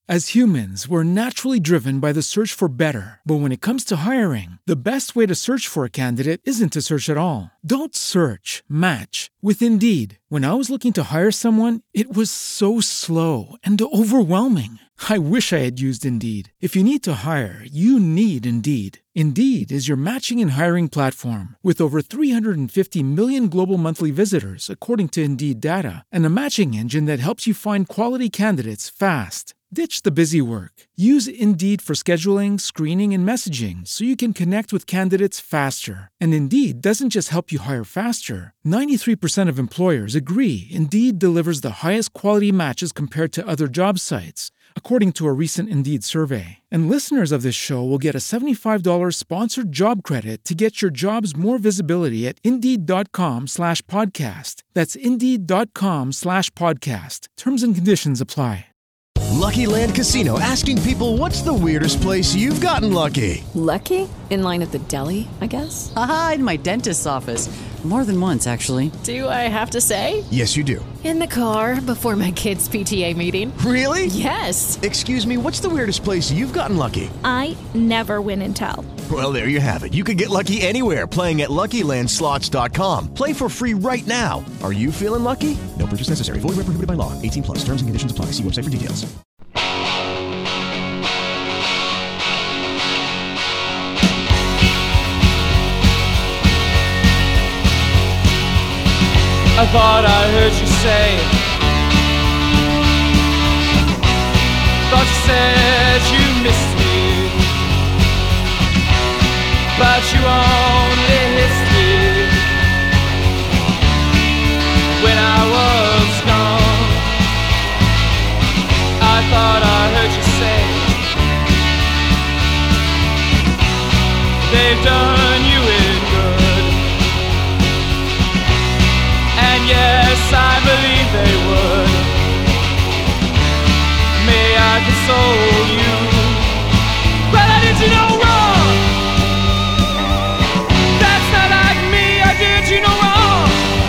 As humans, we're naturally driven by the search for better. But when it comes to hiring, the best way to search for a candidate isn't to search at all. Don't search, match with Indeed. When I was looking to hire someone, it was so slow and overwhelming. I wish I had used Indeed. If you need to hire, you need Indeed. Indeed is your matching and hiring platform with over 350 million global monthly visitors, according to Indeed data, and a matching engine that helps you find quality candidates fast. Ditch the busy work. Use Indeed for scheduling, screening, and messaging so you can connect with candidates faster. And Indeed doesn't just help you hire faster. 93% of employers agree Indeed delivers the highest quality matches compared to other job sites, according to a recent Indeed survey. And listeners of this show will get a $75 sponsored job credit to get your jobs more visibility at Indeed.com/podcast. That's Indeed.com/podcast. Terms and conditions apply. Lucky Land Casino, asking people, what's the weirdest place you've gotten lucky? Lucky? In line at the deli, I guess? Aha, in my dentist's office. More than once, actually. Do I have to say? Yes, you do. In the car before my kids' PTA meeting. Really? Yes. Excuse me, what's the weirdest place you've gotten lucky? I never win and tell. Well, there you have it. You can get lucky anywhere, playing at LuckyLandSlots.com. Play for free right now. Are you feeling lucky? No purchase necessary. Void where prohibited by law. 18 plus. Terms and conditions apply. See website for details. I thought I heard you say, thought you said you missed me, but you only missed me when I was gone. I thought I heard you say, they've done you in good. Yes, I believe they would. May I console you? But I did you no wrong. That's not like me, I did you no wrong.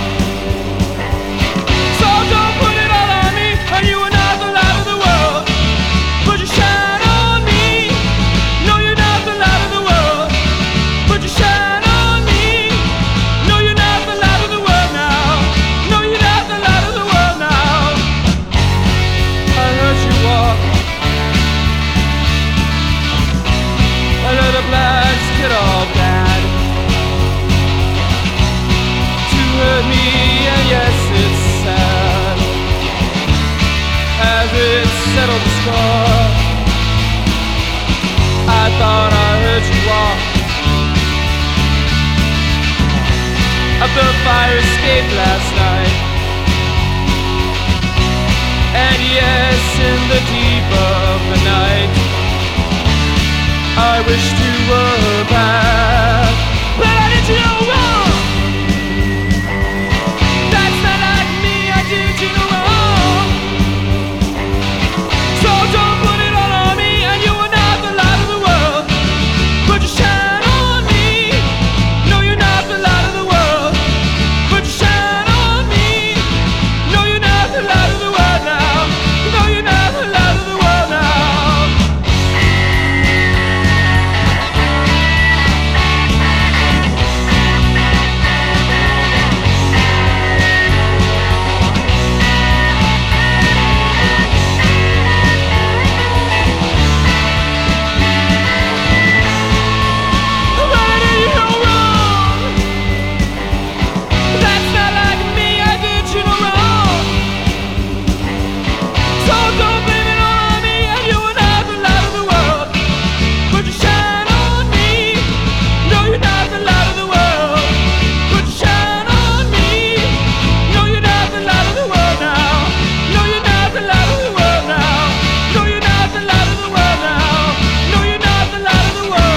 So don't put it all on me, and you are not the light of the world. Put your shine on me. No, you're not the light of the world. Put your shine on me. No, you're not the light of the world now. No, you're not the light of the world now. I heard you walk under the blanket all bad to hurt me, and yes, it's sad as it settled the score. I thought I heard you walk up the fire escape last night. And yes, in the deep of the night, I wished you were back. But I did you no wrong. That's not like me, I did you no wrong. So don't put it all on me, and you are not the light of the world. Put your shine on me. No, you're not the light of the world. Put your shine on me. No, you're not the light of the world now. No, you're not the light of the world now. Why did you go wrong? That's not like me, I did you no wrong. So don't blame it all on me, and you are not the light of the world. Put your shine on me. No, you're not the light of the world. Put your shine on me. No, you're not the light of the world now. No, you're not the light of the world now. No, you're not the light of the world now. No, you're not the light of the world.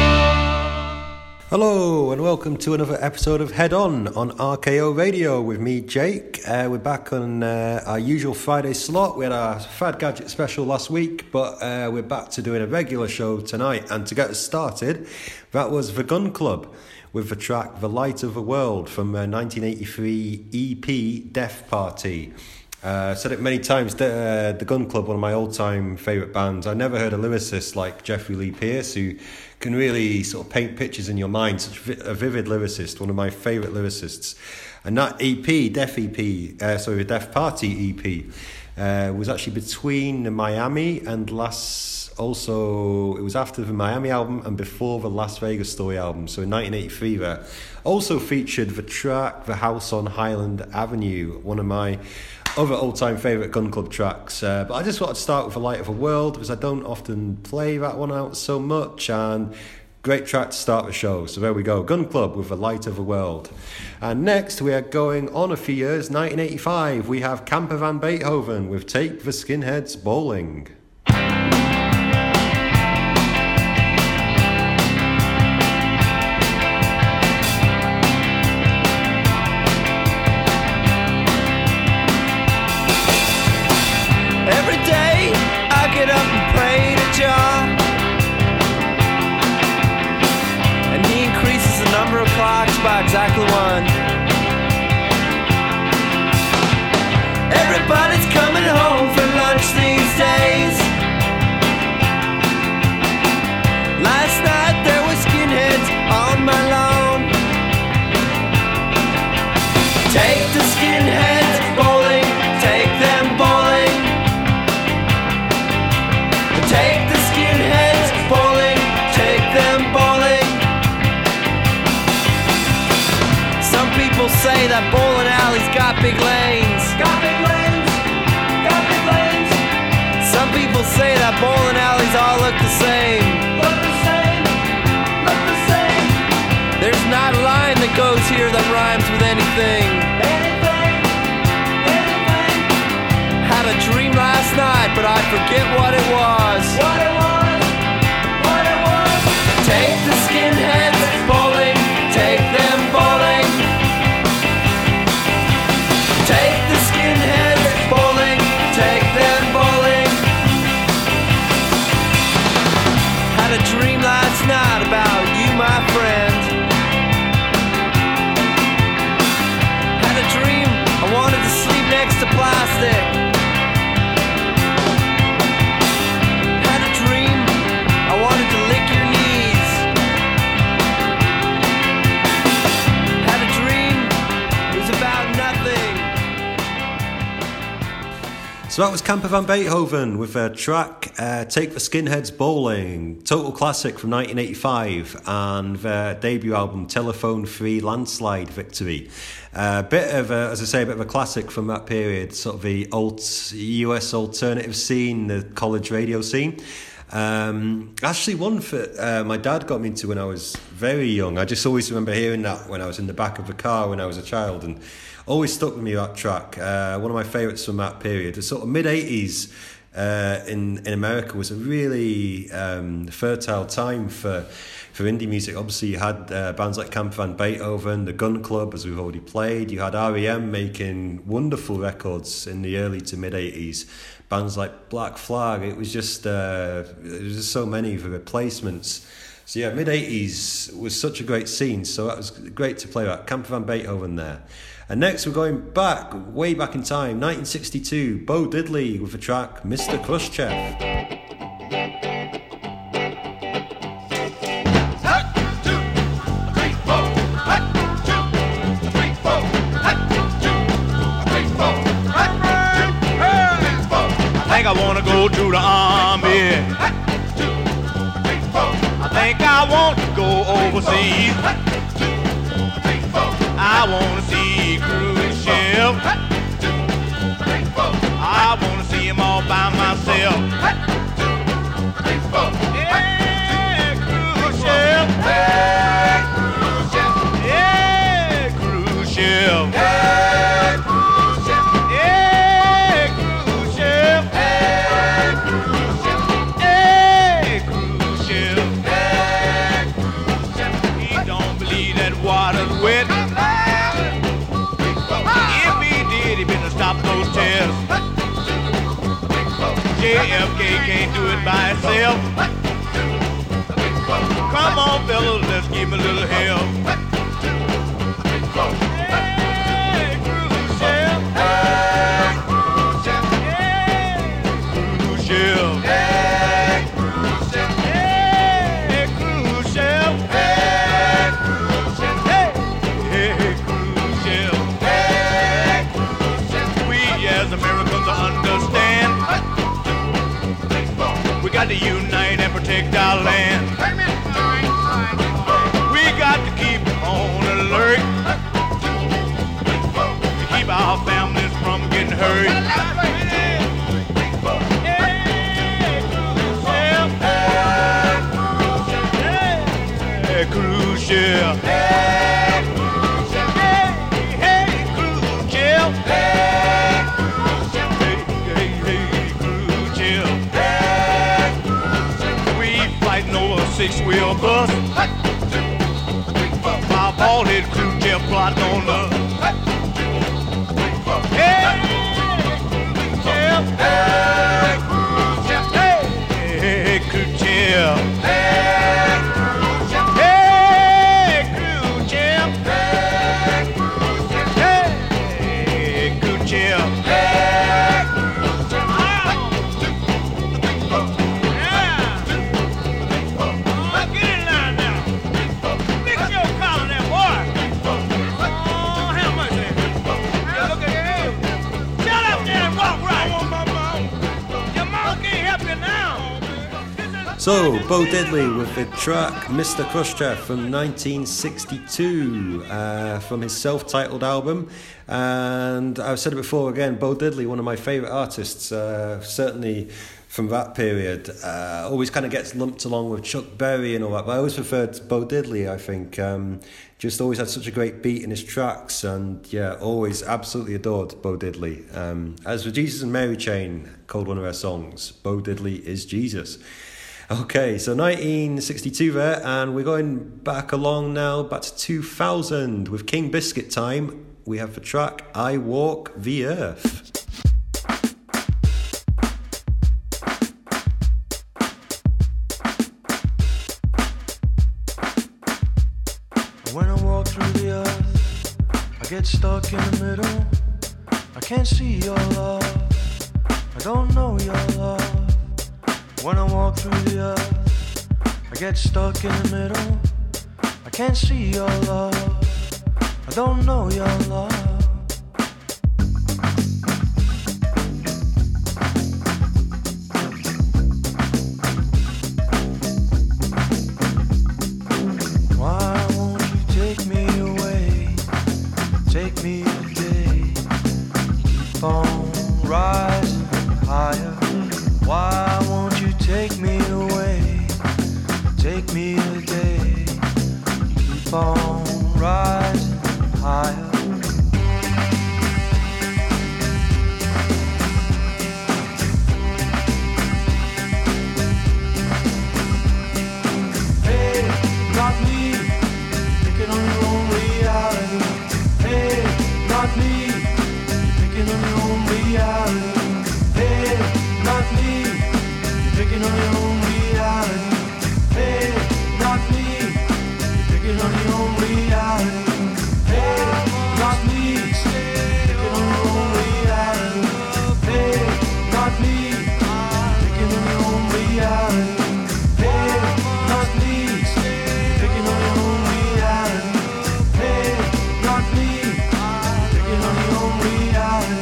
Hello and welcome to another episode of Head On RKO Radio with me, Jake. We're back on our usual Friday slot. We had our Fad Gadget special last week, but we're back to doing a regular show tonight. And to get us started, that was The Gun Club with the track The Light of the World from 1983 EP Death Party. I've said it many times, the Gun Club, one of my all-time favourite bands. I never heard a lyricist like Jeffrey Lee Pierce, who can really sort of paint pictures in your mind, such a vivid lyricist, one of my favourite lyricists. And that EP, the Deaf Party EP, was actually between Miami and it was after the Miami album and before the Las Vegas Story album. So in 1983, that also featured the track The House on Highland Avenue, one of my other all-time favourite Gun Club tracks. But I just wanted to start with The Light of the World, because I don't often play that one out so much, and great track to start the show. So there we go, Gun Club with The Light of the World. And next we are going on a few years, 1985. We have Camper Van Beethoven with Take the Skinheads Bowling. By exactly one. Everybody's coming home for lunch these days. Last night there were skinheads on my lawn. Take the skinheads bowling, take them bowling. Take the skinheads bowling, take them bowling. People say that bowling alleys got big lanes. Got big lanes. Got big lanes. Some people say that bowling alleys all look the same. Look the same. Look the same. There's not a line that goes here that rhymes with anything. Anything. Anything. Had a dream last night, but I forget what it was. What it was. What it was. Take the skinheads bowling. Take them bowling. Take the skinheads bowling, take them bowling. Had a dream last night about you, my friend. Had a dream I wanted to sleep next to plastic. Had a dream I wanted to lick your knees. Had a dream it was about nothing. So that was Camper Van Beethoven with their track Take the Skinheads Bowling, total classic from 1985, and their debut album Telephone Free Landslide Victory. Bit of a classic from that period, sort of the US alternative scene, the college radio scene. Actually one that my dad got me into when I was very young. I just always remember hearing that when I was in the back of the car when I was a child, and always stuck with me, that track. One of my favourites from that period. The sort of mid-80s in America was a really fertile time for indie music. Obviously you had bands like Camper Van Beethoven, the Gun Club, as we've already played. You had R.E.M. making wonderful records in the early to mid-80s. Bands like Black Flag. It was just so many of the replacements. So yeah, mid-80s was such a great scene, so that was great to play that. Camper Van Beethoven there. And next we're going way back in time, 1962, Bo Diddley with the track Mr. Khrushchev. I think I want to go to the army. I think I want to go overseas. I want to see Khrushchev. I want to see him all by myself. Yeah, Khrushchev. Hey, Khrushchev. Yeah, Khrushchev. Hey, Khrushchev. Yeah, Khrushchev. Hey, Khrushchev. Hey, Khrushchev. Hey, Khrushchev. He don't believe that water's wet. Stop those tears. JFK can't do it by himself. Come on, fellas, let's give him a little help. Hey, Khrushchev. Hey, got to unite and protect our land. We got to keep on alert to keep our families from getting hurt. Hey, cruise ship. Hey, cruise ship. Hey, cruise ship. We fighting over a six-wheel bus. My bald-head cruise ship plotting on us. Hey, cruise ship. Hey, cruise ship. So, Bo Diddley with the track Mr. Khrushchev from 1962 from his self-titled album. And I've said it before again, Bo Diddley, one of my favourite artists, certainly from that period. Always kind of gets lumped along with Chuck Berry and all that, but I always preferred Bo Diddley, I think. Just always had such a great beat in his tracks, and yeah, always absolutely adored Bo Diddley. As for Jesus and Mary Chain, called one of her songs, Bo Diddley is Jesus. Okay, so 1962 there, and we're going back along now, back to 2000 with King Biscuit time. We have the track I Walk the Earth. When I walk through the earth, I get stuck in the middle. I can't see your love, I don't know your love. When I walk through the earth, I get stuck in the middle. I can't see your love, I don't know your love. Why won't you take me away? Take me today. Keep on rising higher. Why won't you take me away? Take me today. Keep on rising higher. Hey, not me, picking on your own reality. Hey, not me, picking on your own reality. Hey, not me, picking on your own reality. Hey, not me, picking on your own reality. Hey, not me, picking on your own reality. Hey, not me, picking on your own reality. Hey, not me, picking on your own reality. Hey, not me, picking on your own reality.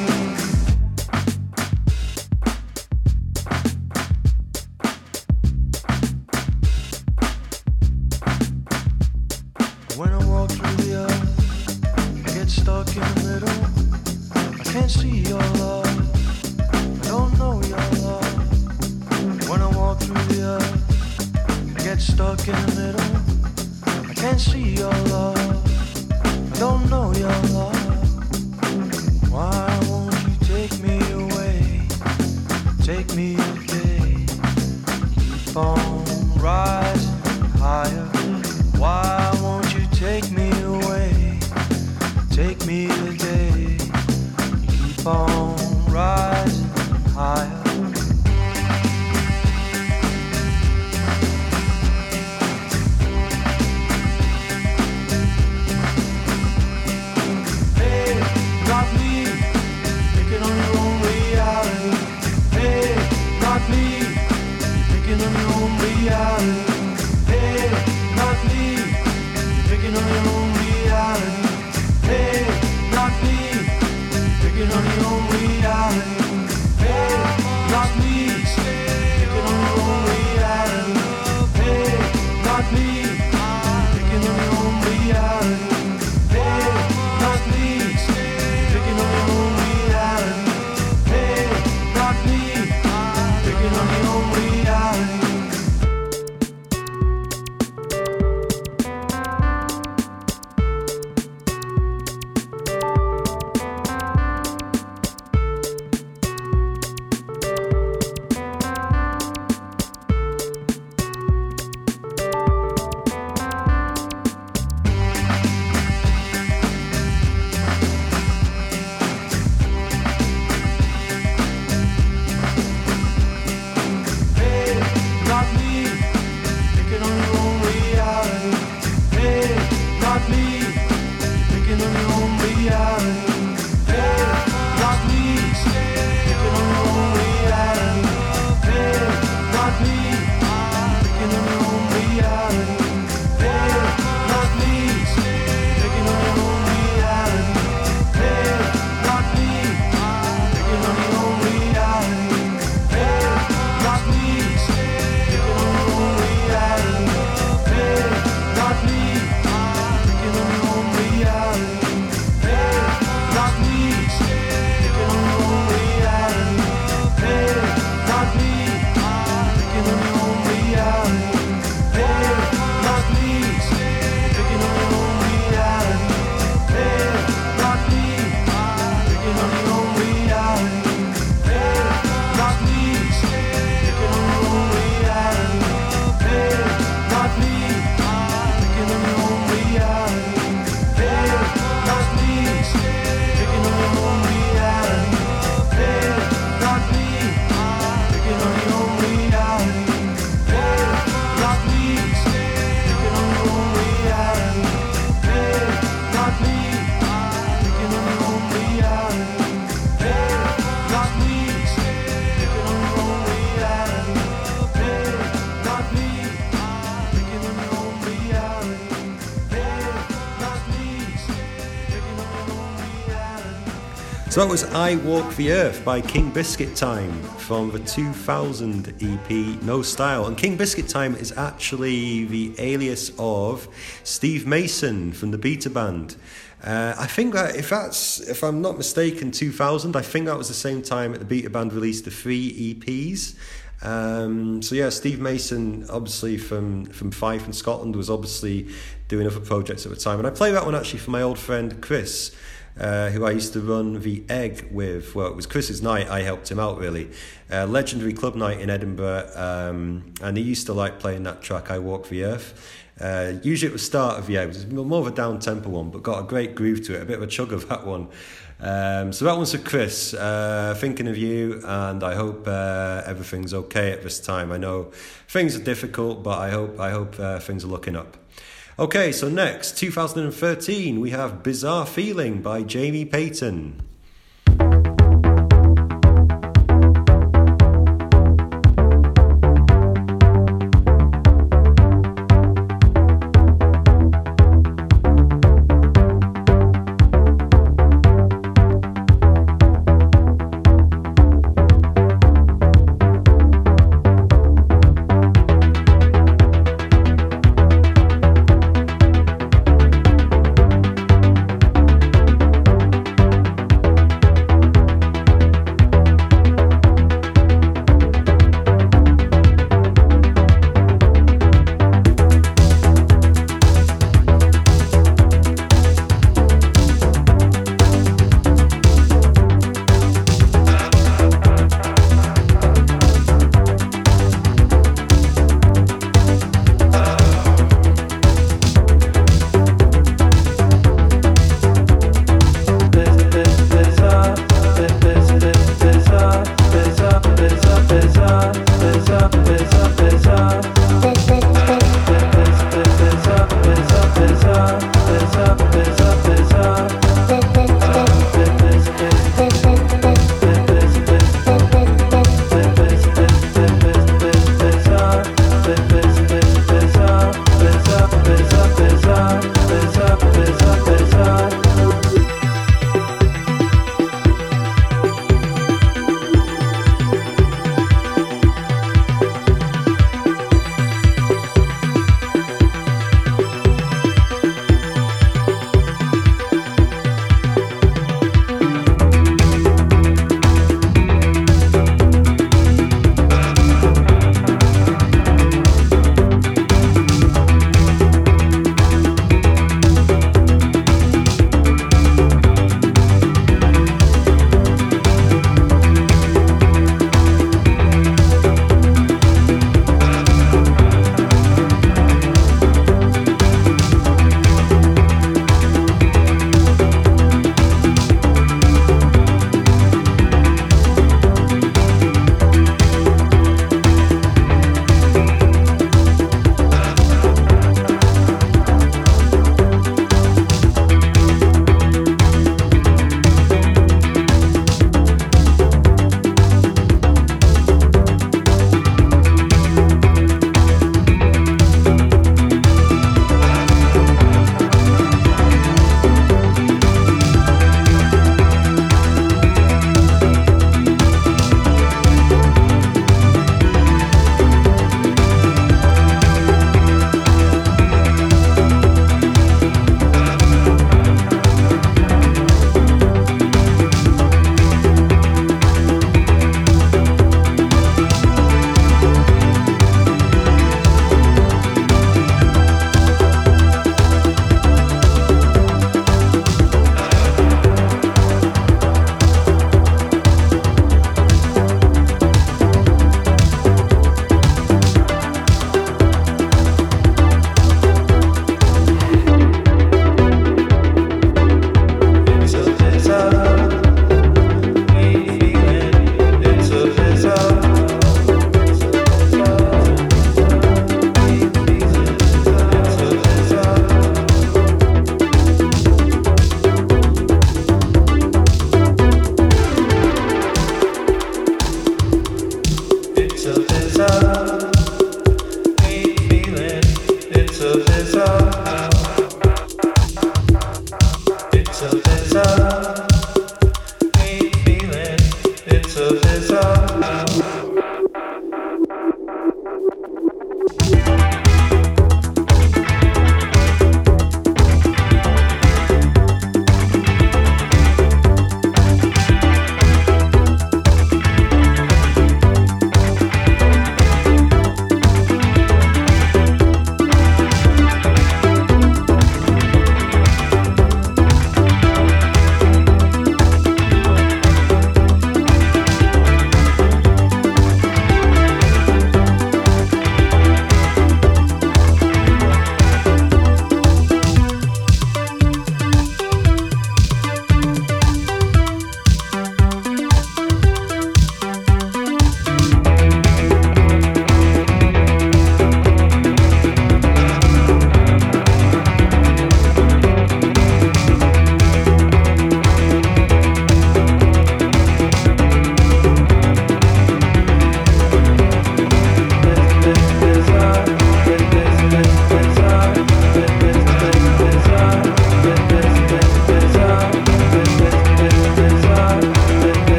When I walk through the earth, I get stuck in the middle. I can't see your love, I don't know your love. When I walk through the earth, I get stuck in the middle. I can't see your love, I don't know your love. Why won't you take me away? Take me today. Keep on rising higher. Why won't you take me away? Take me today. Keep on rising higher. Hey, not me, picking on your own reality. Hey, not me, picking on your own reality. So that was I Walk the Earth by King Biscuit Time from the 2000 EP No Style. And King Biscuit Time is actually the alias of Steve Mason from the Beta Band. I think that if I'm not mistaken, 2000, I think that was the same time that the Beta Band released the 3 EPs. So yeah, Steve Mason, obviously from Fife in Scotland, was obviously doing other projects at the time. And I played that one actually for my old friend Chris, who I used to run the Egg with. Well, it was Chris's night, I helped him out really. Legendary club night in Edinburgh, and he used to like playing that track, I Walk the Earth. Usually at the start of the Egg, it was more of a down-tempo one, but got a great groove to it, a bit of a chug of that one. So that one's for Chris, thinking of you, and I hope everything's okay at this time. I know things are difficult, but I hope things are looking up. Okay, so next, 2013, we have Bizarre Feeling by Jamie Payton.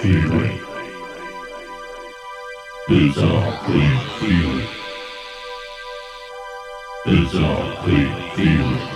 feeling. Bizarre clean feeling. Bizarre clean feeling.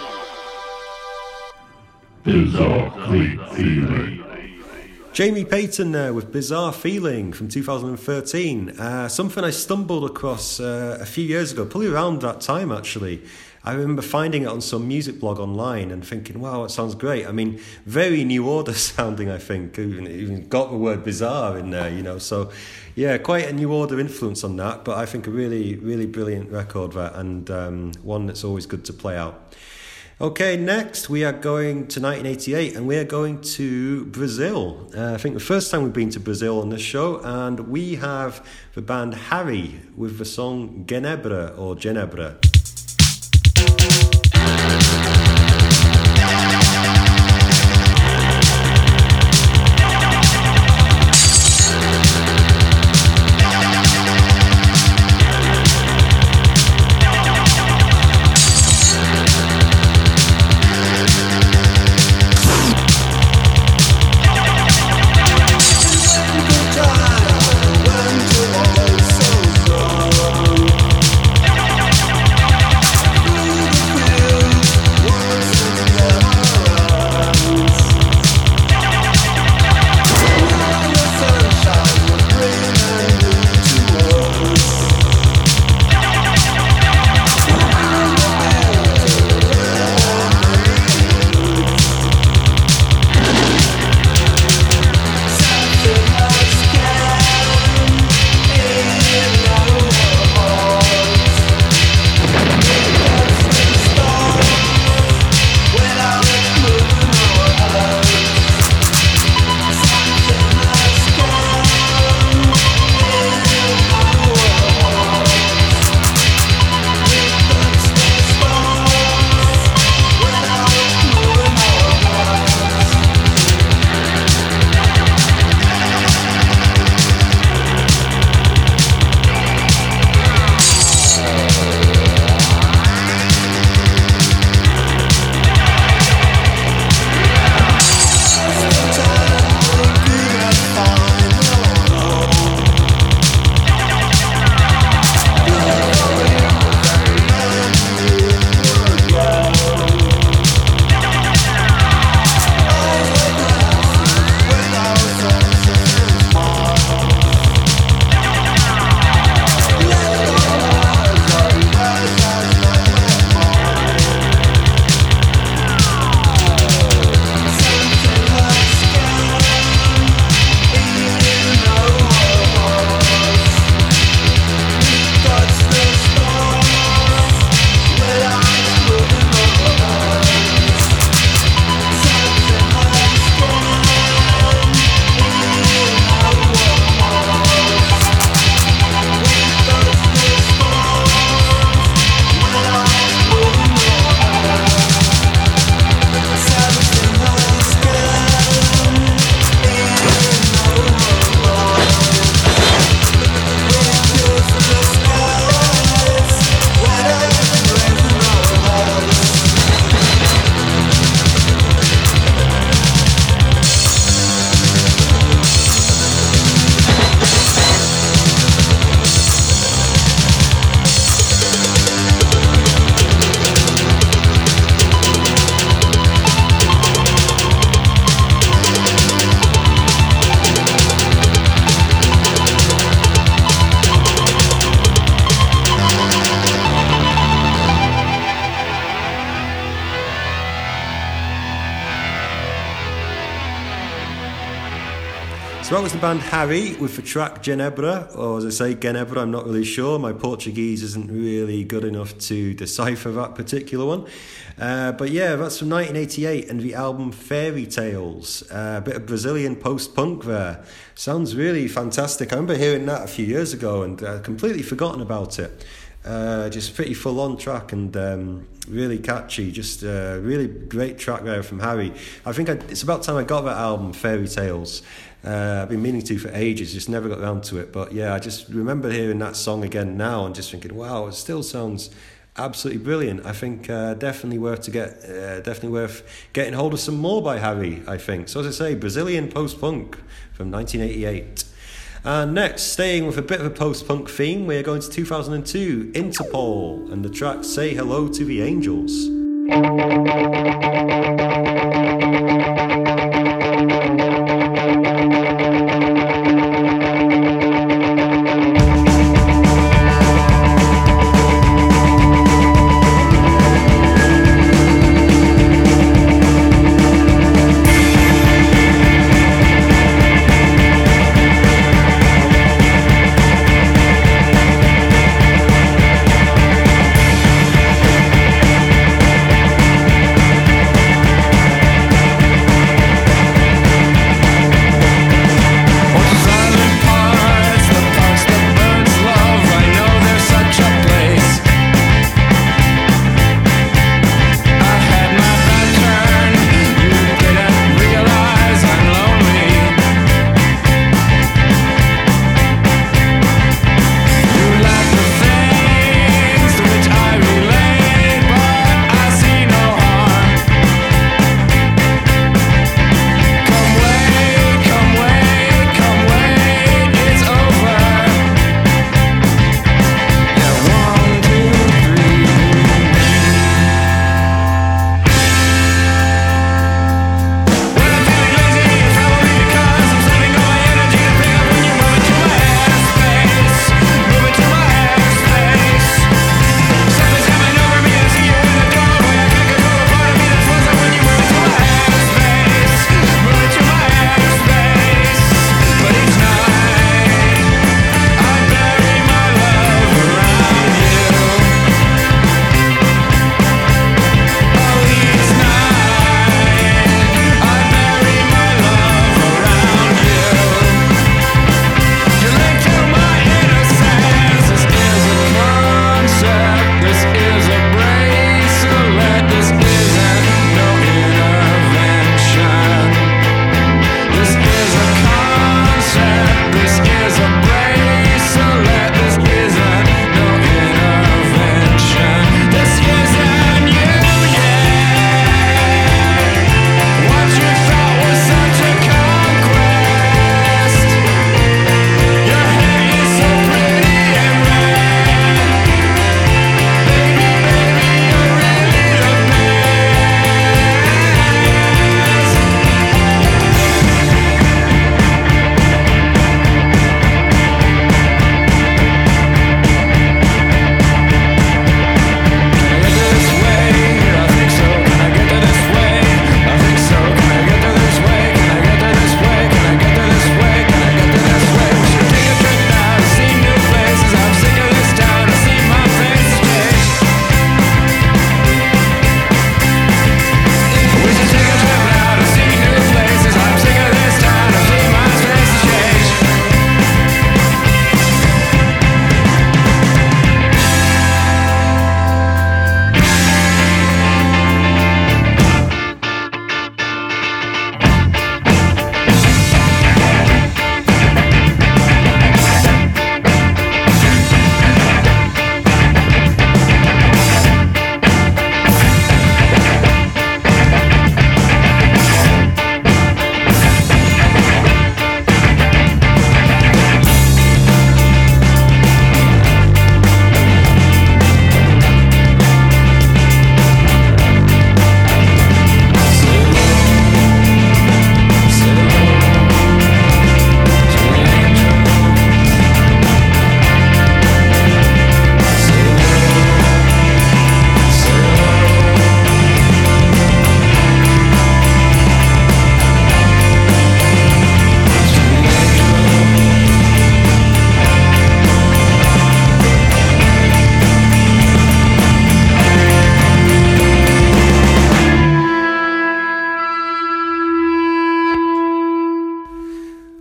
Bizarre clean feeling. Jamie Payton there with Bizarre Feeling from 2013. Something I stumbled across a few years ago, probably around that time actually. I remember finding it on some music blog online and thinking, wow, it sounds great. I mean, very New Order sounding, I think. Even got the word bizarre in there, you know. So, yeah, quite a New Order influence on that. But I think a really, really brilliant record there, and one that's always good to play out. Okay, next we are going to 1988 and we are going to Brazil. I think the first time we've been to Brazil on this show, and we have the band Harry with the song Genebra or Genebra. So that was the band Harry with the track Genebra, or as I say, Genebra, I'm not really sure. My Portuguese isn't really good enough to decipher that particular one. But yeah, that's from 1988 and the album Fairy Tales. A bit of Brazilian post-punk there. Sounds really fantastic. I remember hearing that a few years ago and completely forgotten about it. Just pretty full-on track and really catchy. Just really great track there from Harry. I think it's about time I got that album, Fairy Tales. I've been meaning to for ages, just never got around to it. But yeah, I just remember hearing that song again now and just thinking, wow, it still sounds Absolutely brilliant. I think definitely worth getting hold of some more by Harry, I think. So as I say, Brazilian post-punk from 1988. And next, staying with a bit of a post-punk theme, we're going to 2002, Interpol, and the track Say Hello to the Angels.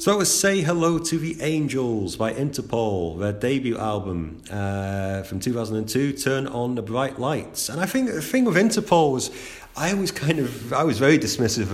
So that was Say Hello to the Angels by Interpol, their debut album from 2002, Turn on the Bright Lights. And I think the thing with Interpol was I was very dismissive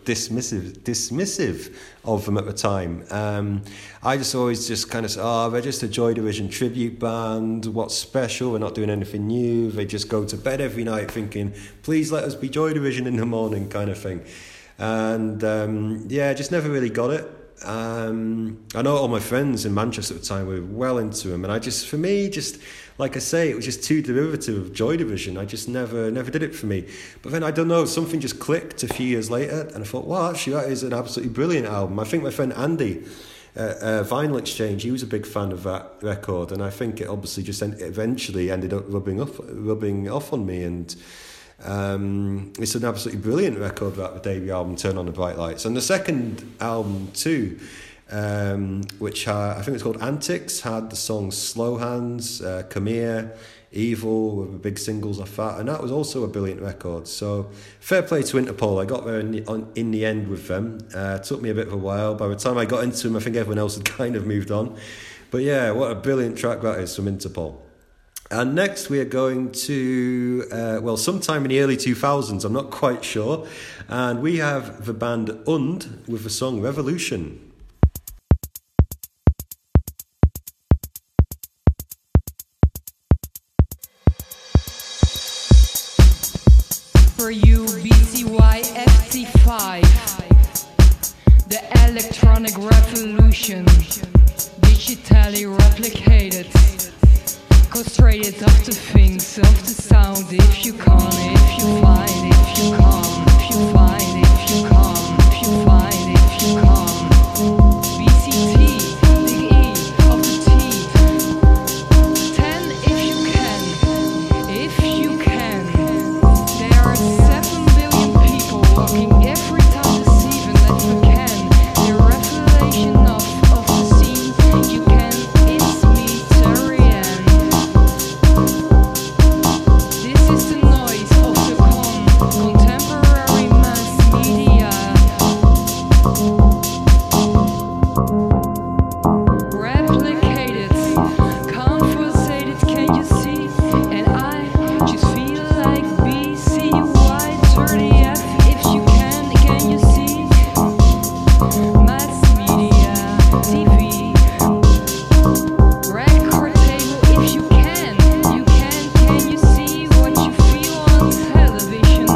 of them at the time. I just always just kind of said, they're just a Joy Division tribute band. What's special? They're not doing anything new. They just go to bed every night thinking, please let us be Joy Division in the morning, kind of thing. And I just never really got it. I know all my friends in Manchester at the time were well into them, and for me, like I say, it was just too derivative of Joy Division. I just never did it for me. But then I don't know, something just clicked a few years later, and I thought, well, actually, that is an absolutely brilliant album. I think my friend Andy, Vinyl Exchange, he was a big fan of that record, and I think it obviously just eventually ended up rubbing off on me, and it's an absolutely brilliant record, that the debut album Turn on the Bright Lights. And the second album too, which I think it's called Antics, had the songs Slow Hands, Come Here, Evil, were the big singles off that, and that was also a brilliant record. So fair play to Interpol. I got there in the end with them. It took me a bit of a while. By the time I got into them, I think everyone else had kind of moved on. But yeah, what a brilliant track that is from Interpol. And next we are going to, sometime in the early 2000s, I'm not quite sure. And we have the band Und with the song Revolution. For you, BCY FT5, the electronic revolution, digitally replicated. Concentrated of the things, of the sound. If you come, if you find, if you come, if you find, if you come, if you find, if you come. BCT, big E of the T. 10 if you can, if you can. There are 7 billion people walking every time this even that you can. The revelation of the scene, you can, it's me, Terry. This is the noise of the contemporary mass media. Replicated, conversated, can you see? And I just feel like BCY 30F. If you can you see? Mass media, TV, record table. If you can you see what you feel on television?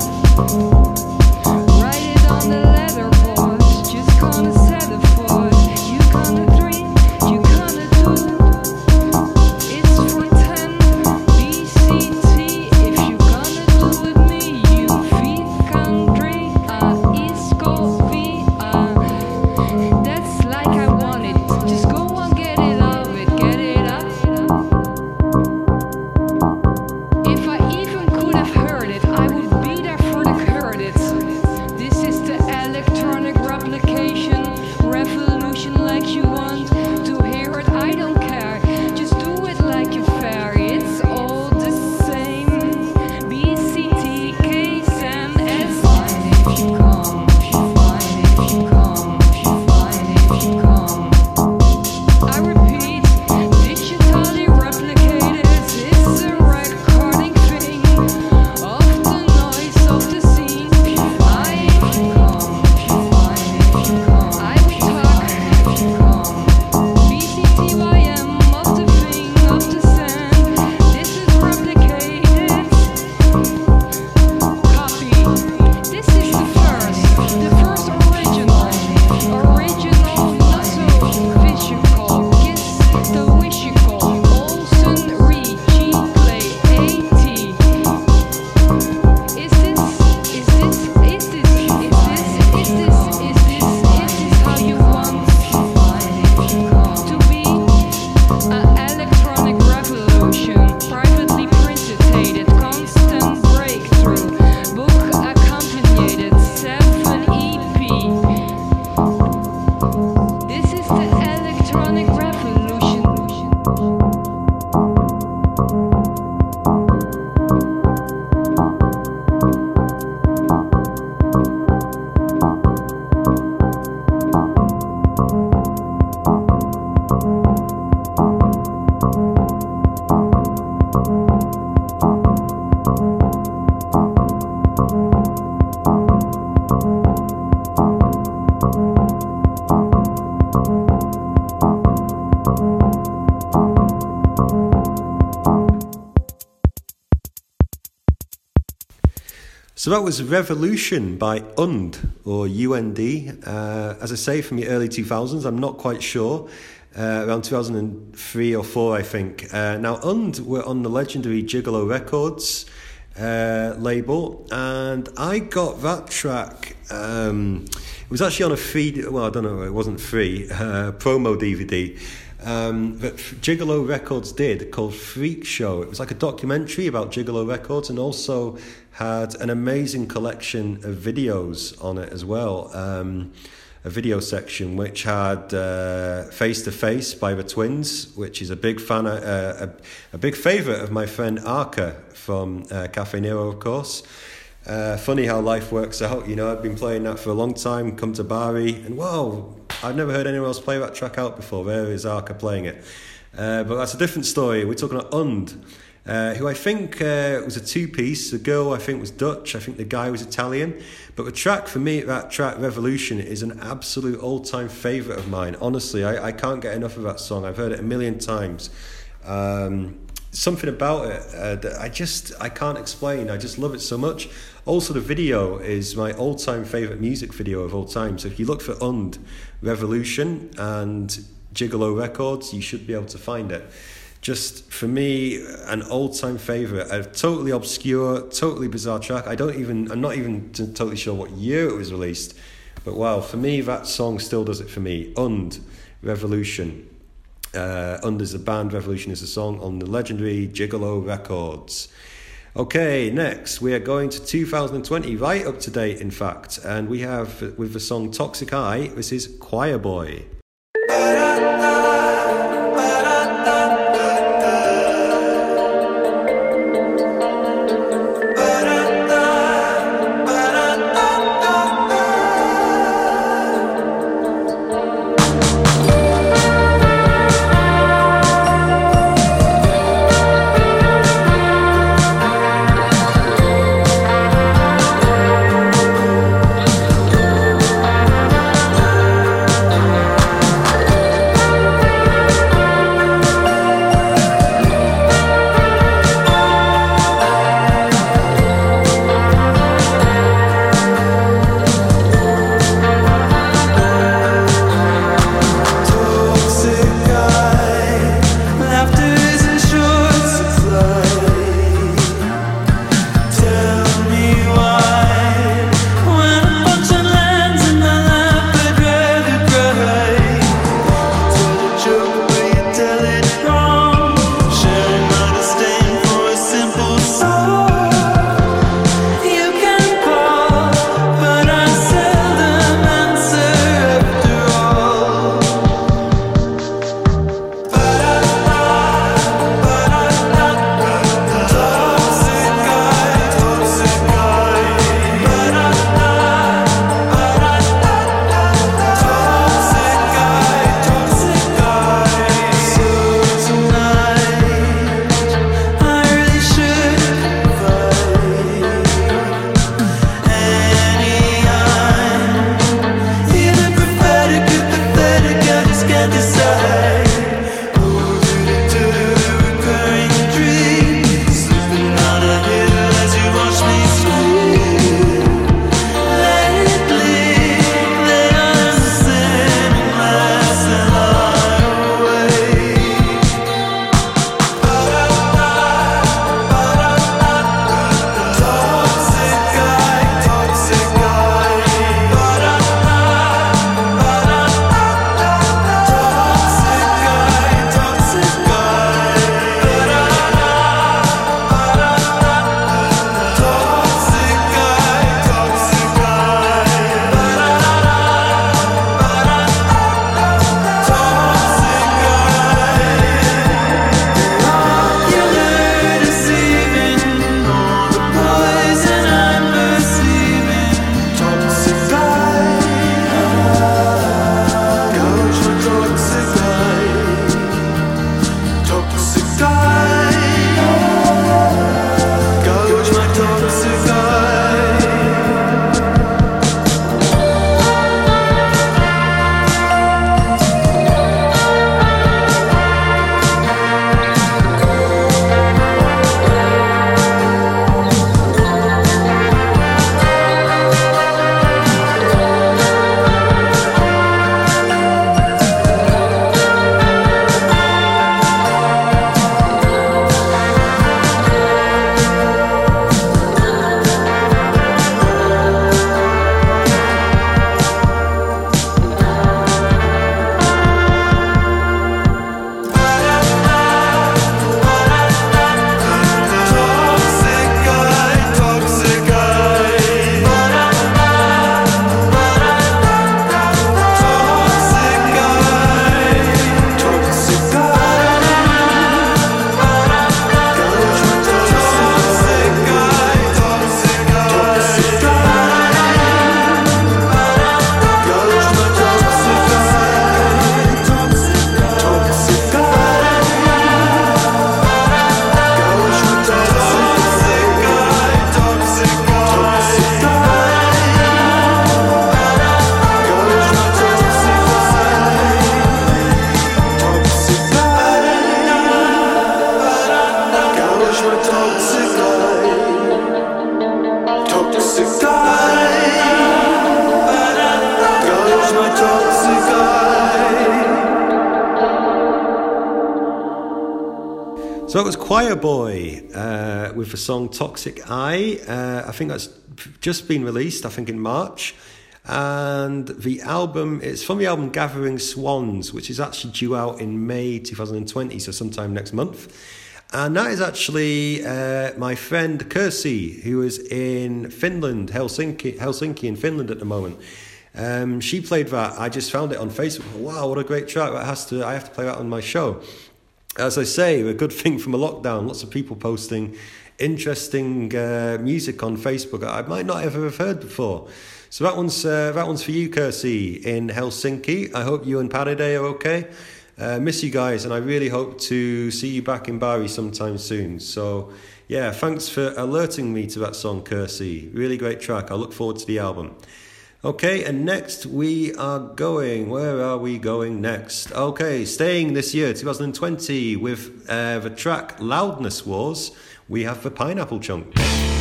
Write it on the letterboard, just gonna set it forth. You gonna 3, you gonna 2. It's for 10, BCT. If you gonna do with me, you feel So that was Revolution by UND, or UND. As I say, from the early 2000s, I'm not quite sure. Around 2003 or 4, I think. Now, UND were on the legendary Gigolo Records label, and I got that track. It was actually on a free, well, I don't know, it wasn't free, promo DVD. That Gigolo Records did, called Freak Show. It was like a documentary about Gigolo Records, and also had an amazing collection of videos on it as well. A video section which had Face to Face by the Twins, which is a big fan, a big favourite of my friend Arca from Cafe Nero, of course. Funny how life works out, you know. I've been playing that for a long time, come to Bari, and whoa, I've never heard anyone else play that track out before. There is Arca playing it. But that's a different story. We're talking about UND, who I think was a two-piece. The girl, I think, was Dutch. I think the guy was Italian. But the track, for me, that track, Revolution, is an absolute all-time favourite of mine. Honestly, I can't get enough of that song. I've heard it a million times. Something about it that I can't explain. I just love it so much. Also, the video is my all-time favourite music video of all time. So if you look for UND, Revolution, and Gigolo Records, you should be able to find it. Just, for me, an all-time favourite. A totally obscure, totally bizarre track. I'm not even totally sure what year it was released. But wow, for me, that song still does it for me. UND, Revolution. UND is a band, Revolution is a song on the legendary Gigolo Records. Okay, next we are going to 2020, right up to date in fact, and we have with the song Toxic Eye, this is Choir Boy. So it was Choir Boy with the song Toxic Eye. I think that's just been released, I think in March. And the album, it's from the album Gathering Swans, which is actually due out in May 2020, so sometime next month. And that is actually my friend Kirsi, who is in Finland, Helsinki in Finland at the moment. She played that. I just found it on Facebook. Wow, what a great track. I have to play that on my show. As I say, a good thing from a lockdown, lots of people posting interesting music on Facebook I might not ever have heard before. So that one's for you, Kirsi, in Helsinki. I hope you and Paraday are okay. Miss you guys, and I really hope to see you back in Bari sometime soon. So yeah, thanks for alerting me to that song, Kirsi. Really great track. I look forward to the album. Okay, and next we are going... Where are we going next? Okay, staying this year, 2020, with the track Loudness Wars, we have the Pineapple Chunk.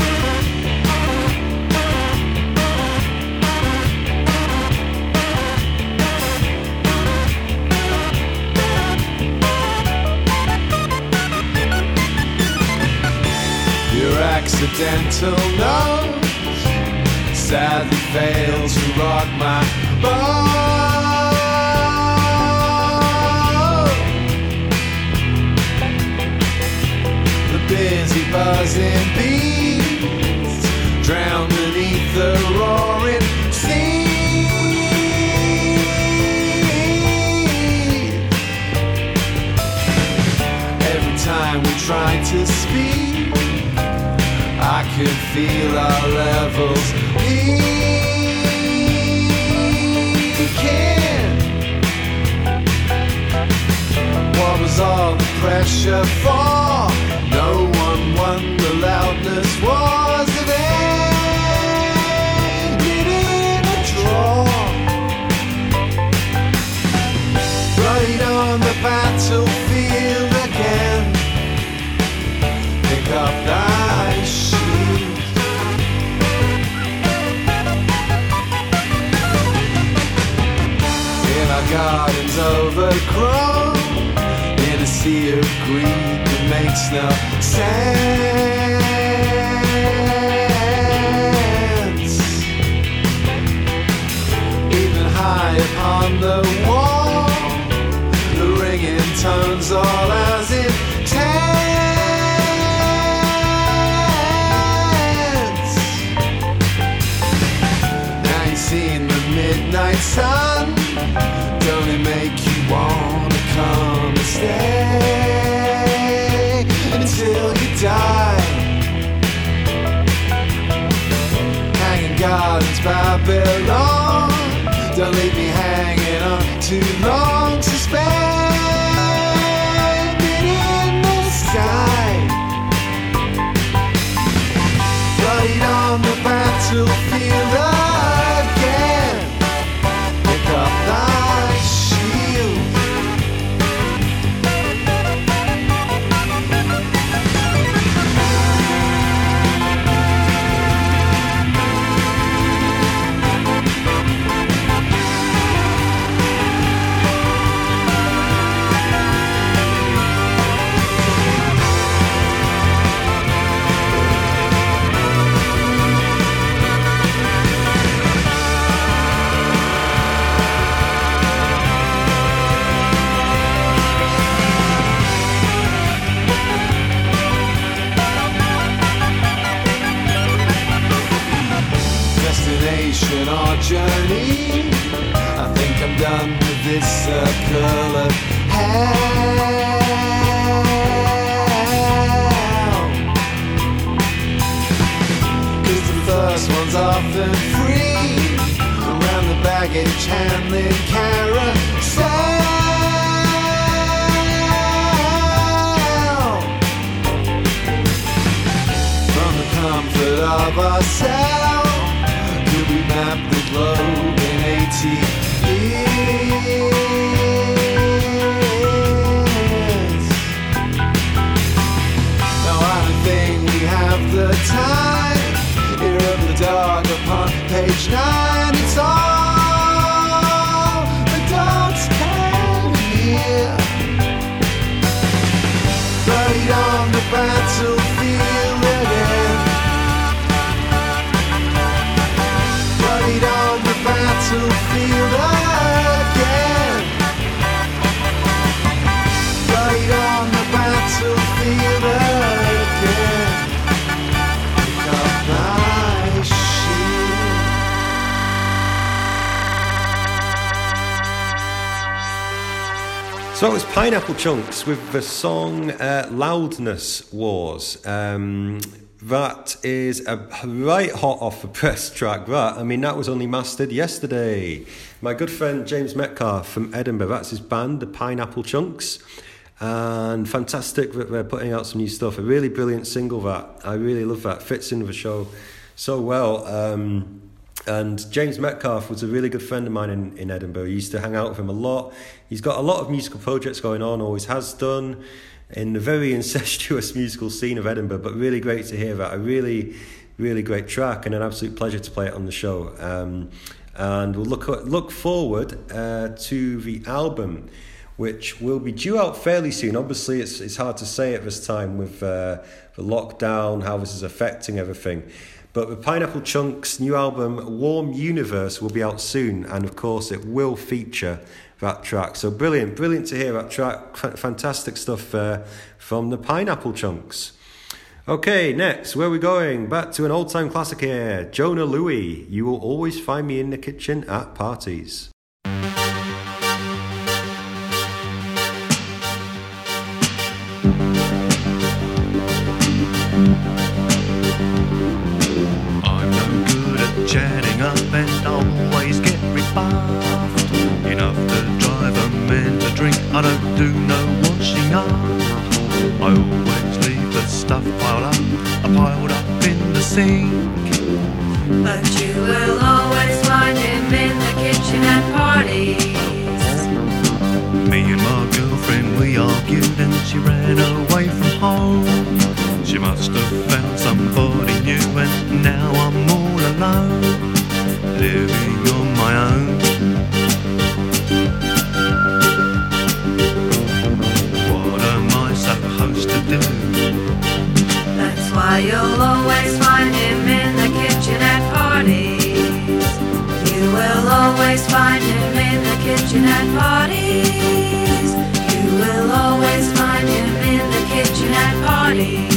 Your accidental nose sadly fails to rock my boat. The busy buzzing bees drown beneath the roaring sea. Every time we try to speak, I can feel our levels peaking. What was all the pressure for? No one won. The loudness was an end in a draw. Right on the battlefield again. Pick up thy shield. In our gardens overgrown, in a sea of green that makes no sense. Even high upon the wall, the ringing tones all as intense. Now you've seen the midnight sun, don't it make you wanna come and stay until you die? Hanging gardens, Babylon, don't leave me hanging on too long. Suspended in the sky, right on the battlefield again. Pick up thy shield. Destination or journey, I think I'm done with this circle of hell. 'Cause the first one's often free, around the baggage handling carousel. From the comfort of ourselves, we map the globe in 80 years. Now I don't think we have the time. Ear of the dog upon page 9. It's all the dogs can hear. Right on So it was Pineapple Chunks with the song Loudness Wars. That is a right hot off the press track. That was only mastered yesterday. My good friend James Metcalf from Edinburgh, that's his band, the Pineapple Chunks. And fantastic that they're putting out some new stuff. A really brilliant single, that. I really love that. Fits in with the show so well. And James Metcalf was a really good friend of mine in Edinburgh. I used to hang out with him a lot. He's got a lot of musical projects going on, always has done, in the very incestuous musical scene of Edinburgh, but really great to hear that. A really, really great track and an absolute pleasure to play it on the show. And we'll look forward to the album, which will be due out fairly soon. Obviously, it's hard to say at this time with the lockdown, how this is affecting everything. But the Pineapple Chunks' new album, Warm Universe, will be out soon. And of course, it will feature that track. So brilliant to hear that track. Fantastic stuff from the Pineapple Chunks. Okay, next, where are we going? Back to an old-time classic here. Jonah Louie, You Will Always Find Me in the Kitchen at Parties. Chatting up and always get rebuffed. Enough to drive a man to drink. I don't do no washing up. I always leave the stuff piled up in the sink. But you will always find him in the kitchen at parties. Me and my girlfriend, we argued and she ran away from home. She must have found somebody new and now I'm all alone, living on my own. What am I supposed to do? That's why you'll always find him in the kitchen at parties. You will always find him in the kitchen at parties. You will always find him in the kitchen at parties.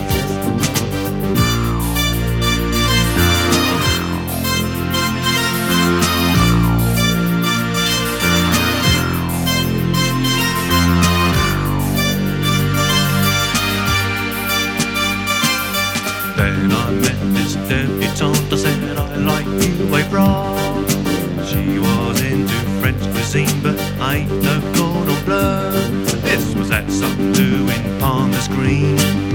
Then I met this debutante, I said I like you, a bra. She was into French cuisine, but I ain't no cordon bleu. This was at some do in Palmer's Green.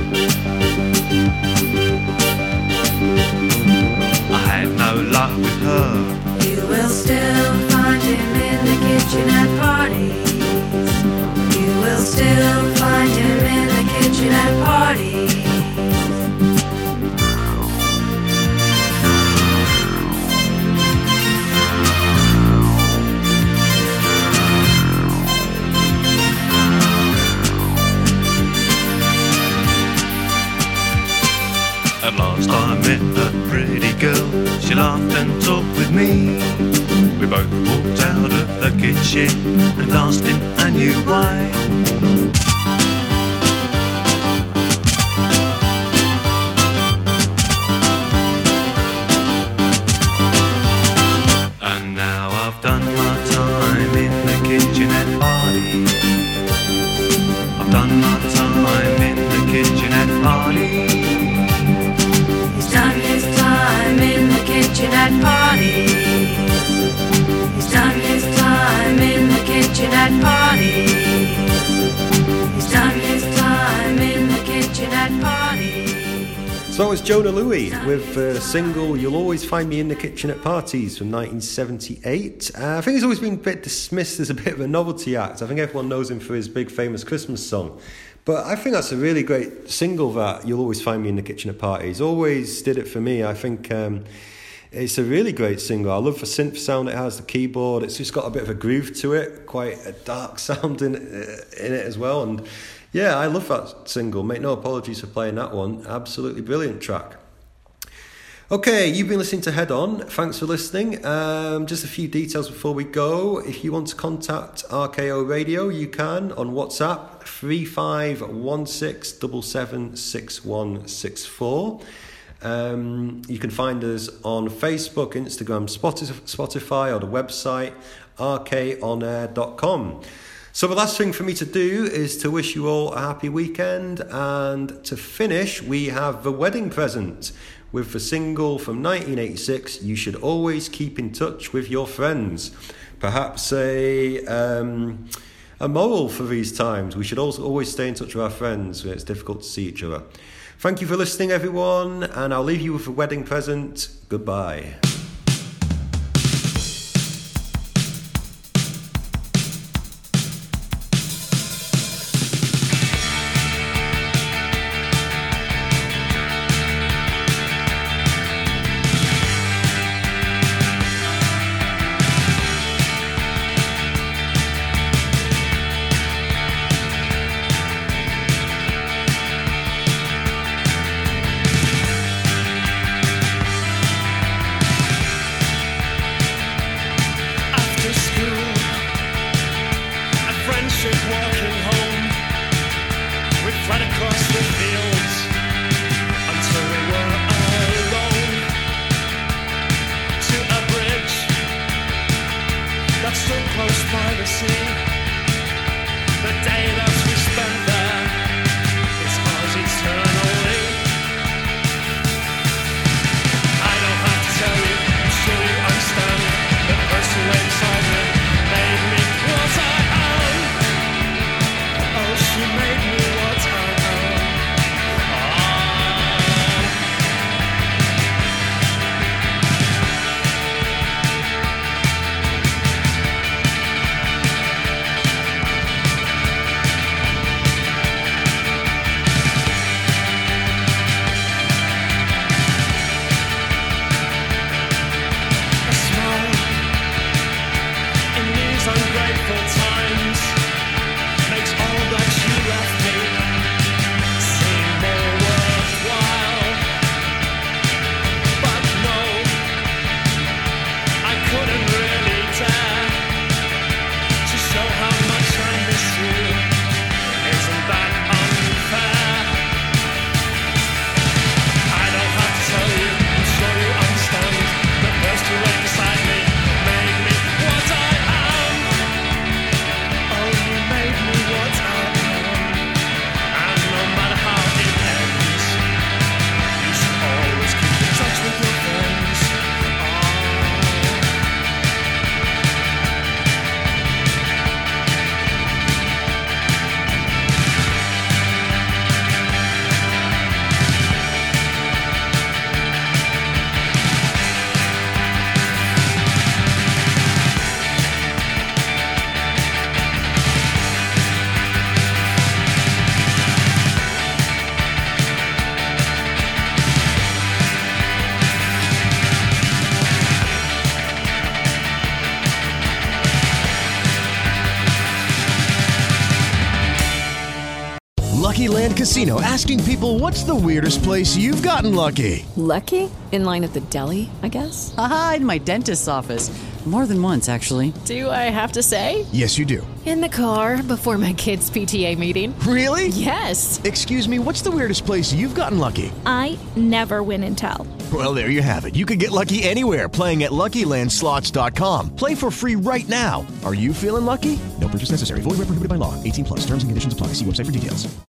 I had no luck with her. You will still find him in the kitchen at parties. You will still find him in the kitchen at parties. At last I met a pretty girl, she laughed and talked with me. We both walked out of the kitchen and danced in a new way. And now I've done my time in the kitchen at parties. I've done my time in the kitchen at parties. Done his time in the kitchen at parties. He's done his time in the kitchen at parties. He's done his time in the kitchen at parties. So it was Jonah Louie with the single You'll Always Find Me in the Kitchen at Parties from 1978. I think he's always been a bit dismissed as a bit of a novelty act. I think everyone knows him for his big famous Christmas song. But I think that's a really great single, that You'll Always Find Me in the Kitchen at Parties. Always did it for me. I think it's a really great single. I love the synth sound it has, the keyboard. It's just got a bit of a groove to it, quite a dark sound in it as well. And yeah, I love that single. Make no apologies for playing that one. Absolutely brilliant track. Okay, you've been listening to Head On. Thanks for listening. Just a few details before we go. If you want to contact RKO Radio, you can on WhatsApp 3516776164. You can find us on Facebook, Instagram, Spotify, or the website rkonair.com. So the last thing for me to do is to wish you all a happy weekend, and to finish we have the wedding present with the single from 1986, You Should Always Keep in Touch with Your Friends. Perhaps a moral for these times. We should also always stay in touch with our friends when it's difficult to see each other. Thank you for listening, everyone, and I'll leave you with the wedding present. Goodbye. Lucky Land Casino, asking people, what's the weirdest place you've gotten lucky? Lucky? In line at the deli, I guess? Aha, in my dentist's office. More than once, actually. Do I have to say? Yes, you do. In the car before my kids' PTA meeting. Really? Yes. Excuse me, what's the weirdest place you've gotten lucky? I never win and tell. Well, there you have it. You can get lucky anywhere, playing at LuckyLandSlots.com. Play for free right now. Are you feeling lucky? No purchase necessary. Void where prohibited by law. 18+. Terms and conditions apply. See website for details.